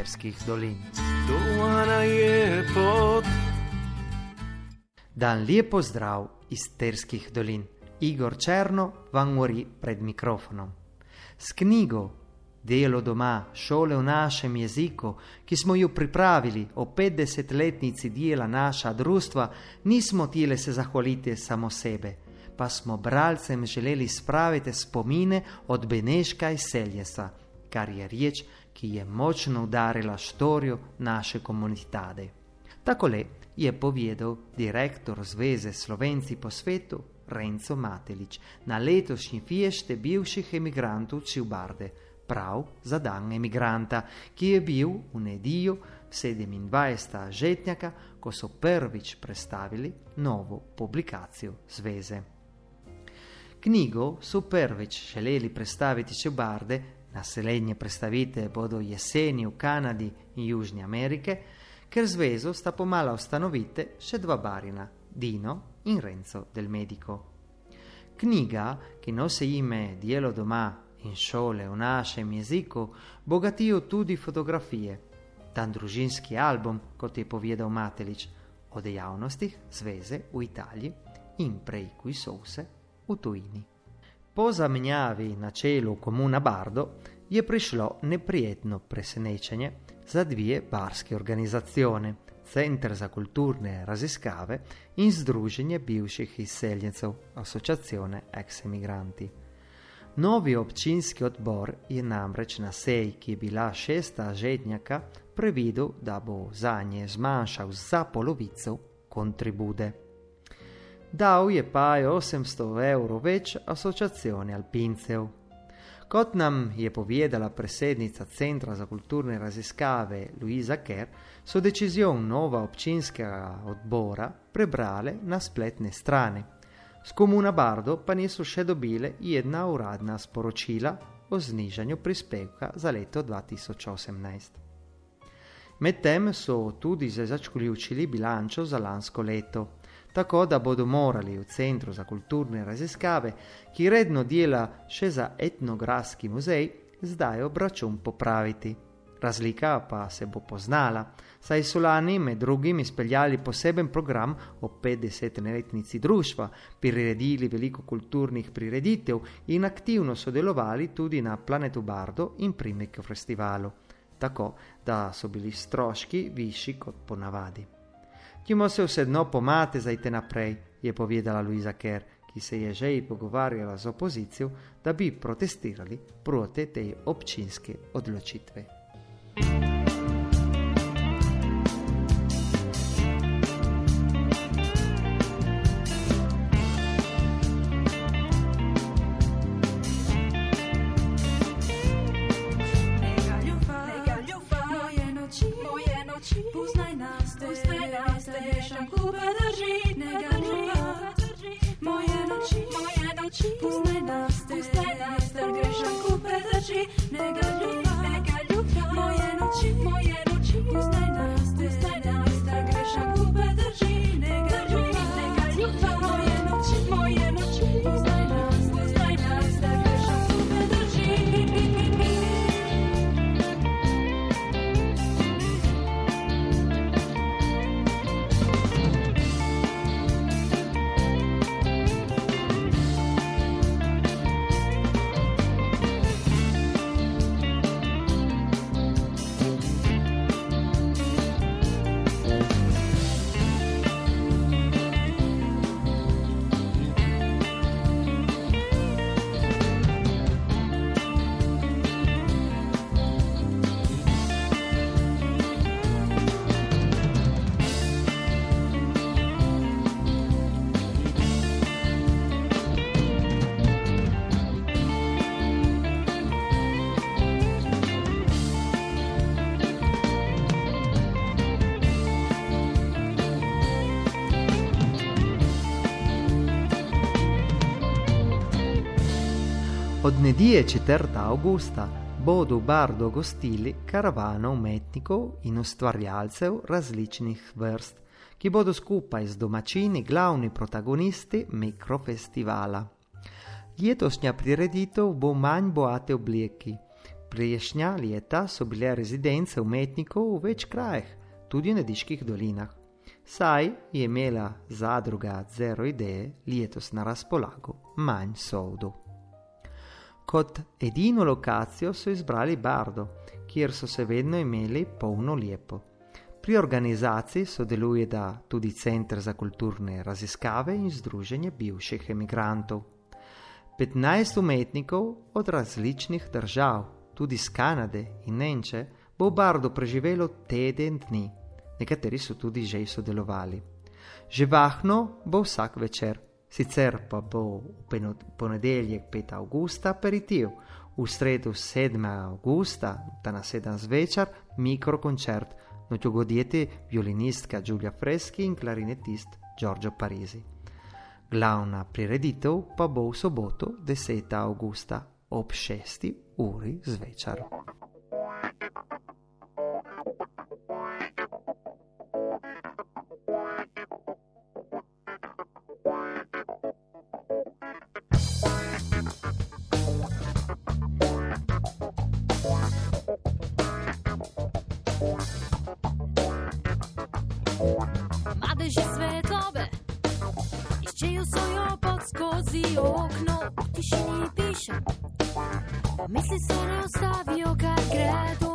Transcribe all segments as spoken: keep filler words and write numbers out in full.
Terskih dolin. Doana je pot. Dan lijep pozdrav iz Terskih dolin. Igor Černo vam govori pred mikrofonom. S knjigo Delo doma, šole v našem jeziku, ki smo jo pripravili o petdesetletnici dela naša društva, nismo htjeli se zahvaliti samo sebe, pa smo bralcem želeli spraviti spomine od Beneška iz Seljesa, kar je riječ, ki je močno udarila štoriju naše komunitade. Takole je povedal direktor Zveze Slovenci po svetu Renzo Matelić na letošnji fiješte bivših emigrantov Čubarde, prav za dan emigranta, ki je bil v nedjelju sedemindvajsetega žetnjaka, ko so prvič predstavili novo publikacijo Zveze. Knjigo so prvič želeli predstaviti Čubarde, naslednje predstavitve bodo jeseni v Kanadi in Južni Amerike, ker zvezo sta pomala ustanovite še dva barina, Dino in Renzo del Medico. Knjiga, ki nosi ime Delo doma in šole v našem jeziku, bogatijo tudi fotografije. Dan družinski album, kot je povedal Matelić, o dejavnostih zveze v Italiji in prej koji so se v tujini. Po zamenjavi na čelu Komuna Bardo je prišlo neprijetno presenečenje za dvije barske organizacione, Centar za kulturne raziskave in Združenje bivših izseljencev, Asociazione ex emigranti. Novi občinski odbor je namreč na seji, ki je bila šesta žetnjaka, previdel, da bo zanje zmanjšal za polovico kontribude. Dal je pa osemsto evrov več Asociazione alpincev. Kot nam je povedala predsednica Centra za kulturne raziskave Luisa Kerr, so decizion nova občinskega odbora prebrale na spletne strane. Z Komuna Bardo pa niso še dobile jedna uradna sporočila o znižanju prispevka za leto dva tisoč osemnajst. Medtem so tudi zaključili bilančo za lansko leto, tako da bodo morali v Centru za kulturne raziskave, ki redno dela še za etnografski muzej, zdaj obračun popraviti. Razlika pa se bo poznala, saj so lani med drugim izpeljali poseben program o petdesetletnici društva, priredili veliko kulturnih prireditev in aktivno sodelovali tudi na Planetu Bardo in Primekju festivalu, tako da so bili stroški višji kot ponavadi. Timo se vsedno pomate zajte naprej, je povedala Luisa Kerr, ki se je že pogovarjala z opozicijo, da bi protestirali proti tej občinske odločitve. Od nedjelje četrtega avgusta bodo v Bardo gostili karavano umetnikov in ustvarjalcev različnih vrst, ki bodo skupaj z domačini glavni protagonisti mikrofestivala. Letošnja prireditev bo manj boate obleki. Prejšnja leta so bile rezidence umetnikov v več krajih, tudi v Nediških dolinah. Saj je imela zadruga Zero ideje letos na razpolago manj sovdu. Kot edino lokacijo so izbrali Bardo, kjer so se vedno imeli polno lepo. Pri organizaciji sodeluje da tudi Center za kulturne raziskave in Združenje bivših emigrantov. petnajst umetnikov od različnih držav, tudi z Kanade in Nemče, bo v Bardu preživelo teden dni. Nekateri so tudi že sodelovali. Živahno bo vsak večer, sicer pa bo v ponedeljek petega avgusta aperitiv, v sredo sedmega avgusta, da na sedem zvečer, mikrokoncert, nočjo godjeti violinistka Giulia Freschi in klarinetist Giorgio Parisi. Glavna prireditev pa bo v soboto desetega avgusta ob šesti uri zvečer. Madeži svetlobe iščejo svojo pot skozi okno, v tišini pišem, misli se ne ostavijo, kar gredo.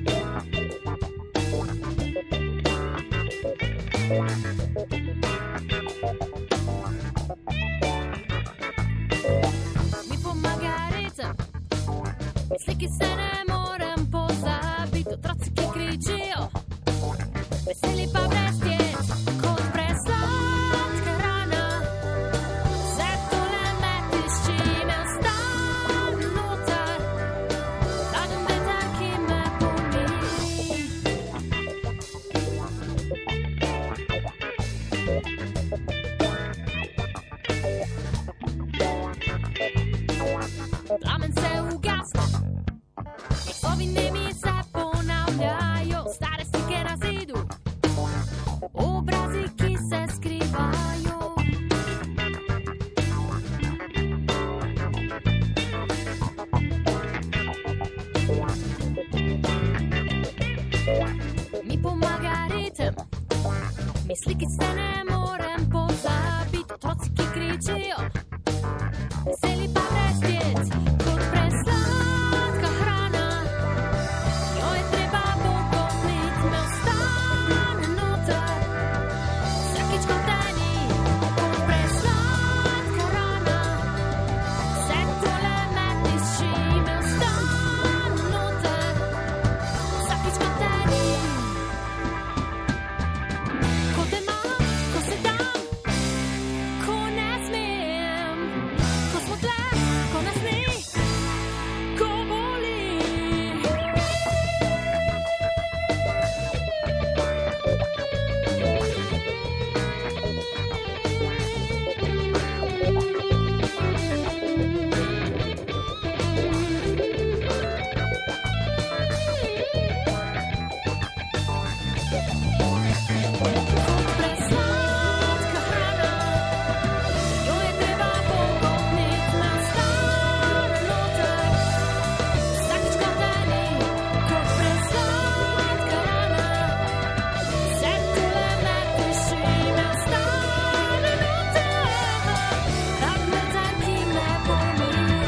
Mi pomaga ritem, misli, ki se ne morem pozabiti, otroci, ki kričijo, veseli pa brez djet, kot presladka rana. Vse tole metiš, čime ostam noter, hladem veter, ki me pomiri. Plamen se ugasne, glasovi nemi se ponavljajo, stare slike na zidu, obrazi, ki se skrivajo. Mi pomaga ritem, misli, ki se ne morem pozabiti, otroci, ki kričijo, veseli pa brez djet, kot presladka hrana. Jo je treba pokopnit, me ostane noter, vsakič kot eni, kot presladka rana. Vse tole metiš, čime ostane noter, vsakič kot eni. Ko te imam, ko se dam, ko ne smem, ko smo tle, ko nas ni, ko boli. Presladka hrana, jo je treba pokopnit, me ostane noter, vsakič kot eni, kot presladka rana. Vse tole metiš, čime ostane noter, hladem veter, ki me pomiri.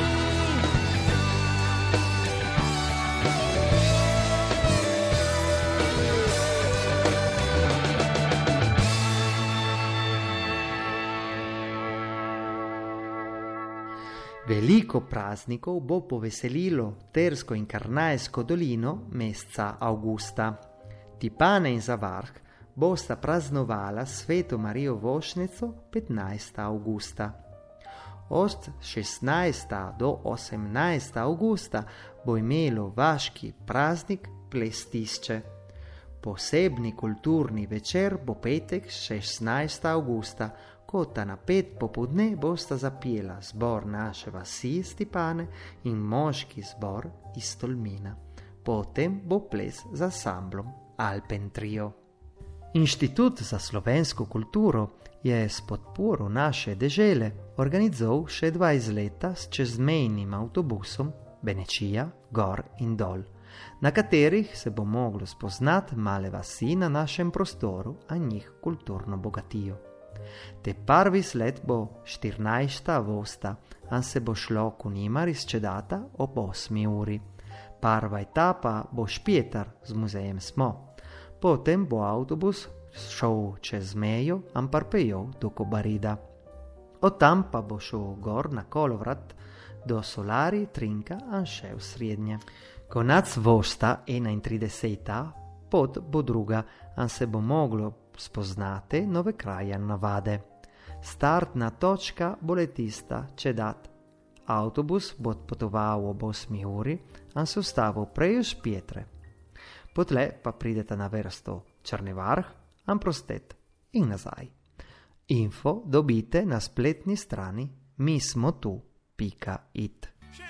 Veliko praznikov bo poveselilo Tersko in Karnajsko dolino meseca avgusta. Tipane in Zavarh bosta praznovala Sveto Marijo Vošnico petnajstega avgusta. Od šestnajstega do osemnajstega avgusta bo imelo vaški praznik Plestišče. Posebni kulturni večer bo petek šestnajstega avgusta, ko ta na pet popodne bosta zapela zbor naše vasi iz Tipane in moški zbor iz Tolmina. Potem bo ples z ansamblom Alpen Trio. Inštitut za slovensko kulturo je s podporo naše dežele organizoval še dvajset leta s čezmejnim avtobusom Benečija, gor in dol, na katerih se bo moglo spoznat male vasi na našem prostoru, a njih kulturno bogatijo. Te prvi sled bo štirnajsta avgusta, an se bo šlo ku njima izčedata ob osmi uri. Prva etapa bo Špjetar z muzejem Smo. Potem bo avtobus šel čez mejo, an parpejal do Kobarida. Od tam pa bo šel gor na kolovrat do Solari, Trinka, an še v srednje. Konec avgusta enaintrideseta, pot bo druga, an se bo moglo spoznati nove kraje navade. Startna točka bo le tista Čedat. Avtobus bo odpotoval ob osmi uri, an se ustavil prej v Špjetre. Potle pa pridete na vrsto Črni Vrh, Amprostet in nazaj. Info dobite na spletni strani mi smo tu pika it.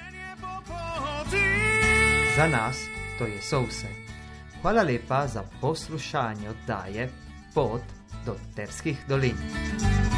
Za nas to je so vse. Hvala lepa za poslušanje oddaje Pot do Terskih dolin.